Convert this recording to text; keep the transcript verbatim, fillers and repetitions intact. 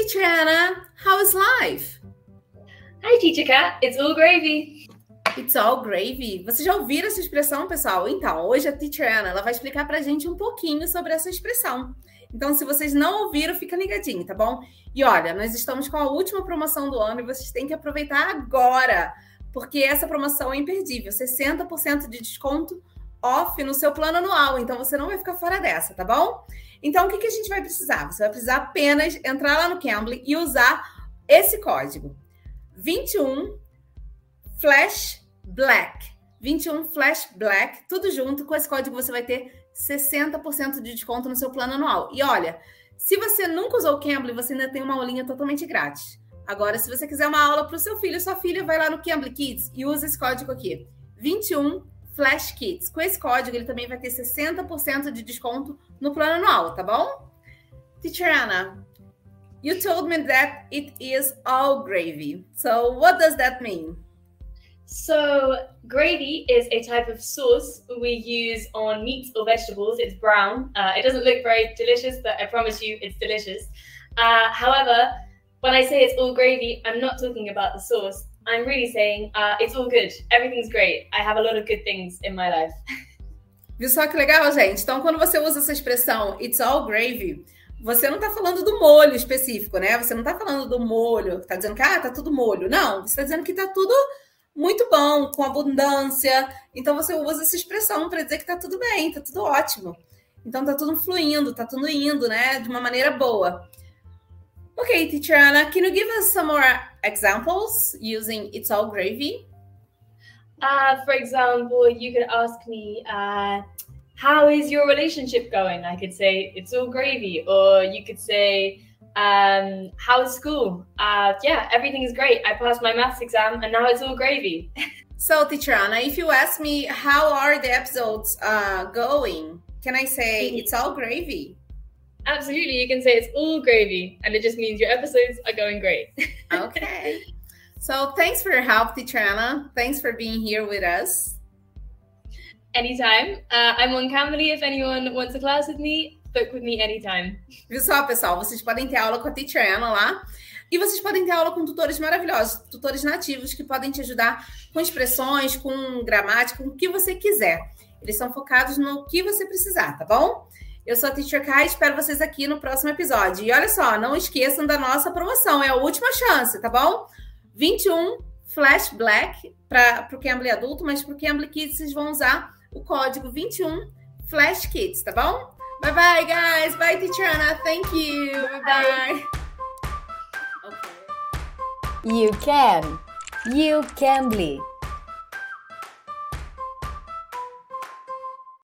Teacher Anna, how is life? Hi, Teacher Kat. It's all gravy. It's all gravy. Vocês já ouviram essa expressão, pessoal? Então, hoje a Teacher Anna ela vai explicar pra gente um pouquinho sobre essa expressão. Então, se vocês não ouviram, fica ligadinho, tá bom? E olha, nós estamos com a última promoção do ano e vocês têm que aproveitar agora, porque essa promoção é imperdível. sessenta por cento de desconto off no seu plano anual. Então, você não vai ficar fora dessa, tá bom? Então, o que, que a gente vai precisar? Você vai precisar apenas entrar lá no Cambly e usar esse código. vinte e um Flash Black. vinte e um Flash Black, tudo junto. Com esse código você vai ter sessenta por cento de desconto no seu plano anual. E olha, se você nunca usou o Cambly, você ainda tem uma aulinha totalmente grátis. Agora, se você quiser uma aula para o seu filho ou sua filha, vai lá no Cambly Kids e usa esse código aqui. vinte e um Flash Kids. Com esse código, ele também vai ter sessenta por cento de desconto no plano anual, tá bom? Teacher Anna, you told me that it is all gravy. So what does that mean? So, gravy is a type of sauce we use on meats or vegetables. It's brown. Uh, it doesn't look very delicious, but I promise you it's delicious. Uh, however, when I say it's all gravy, I'm not talking about the sauce. I'm really saying uh, it's all good. Everything's great. I have a lot of good things in my life. Viu só que legal, gente? Então, quando você usa essa expressão it's all gravy, você não tá falando do molho específico, né? Você não tá falando do molho, tá dizendo que ah, tá tudo molho. Não, você tá dizendo que tá tudo muito bom, com abundância. Então, você usa essa expressão para dizer que tá tudo bem, tá tudo ótimo. Então, tá tudo fluindo, tá tudo indo, né? De uma maneira boa. Okay, Teacher Anna, can you give us some more examples using it's all gravy? Uh, for example, you could ask me, uh, how is your relationship going? I could say, it's all gravy. Or you could say, um, how's school? Uh, yeah, everything is great. I passed my maths exam and now it's all gravy. So, Teacher Anna, if you ask me, how are the episodes uh, going? Can I say, it's all gravy? Absolutely, you can say it's all gravy, and it just means your episodes are going great. Okay. So thanks for your help, Teacher Anna. Thanks for being here with us. Anytime. Uh, I'm on Cambly if anyone wants a class with me. Book with me anytime. Viu só, pessoal? Vocês podem ter aula com a Teacher Anna lá. E vocês podem ter aula com tutores maravilhosos, tutores nativos que podem te ajudar com expressões, com gramática, com o que você quiser. Eles são focados no que você precisar, tá bom? Eu sou a Teacher Kai, espero vocês aqui no próximo episódio. E olha só, não esqueçam da nossa promoção, é a última chance, tá bom? vinte e um Flash Black para o Cambly adulto, mas para o Cambly Kids vocês vão usar o código vinte e um Flash Kids, tá bom? Bye bye, guys. Bye, Teacher Anna. Thank you. Bye bye. Okay. You can. You Cambly.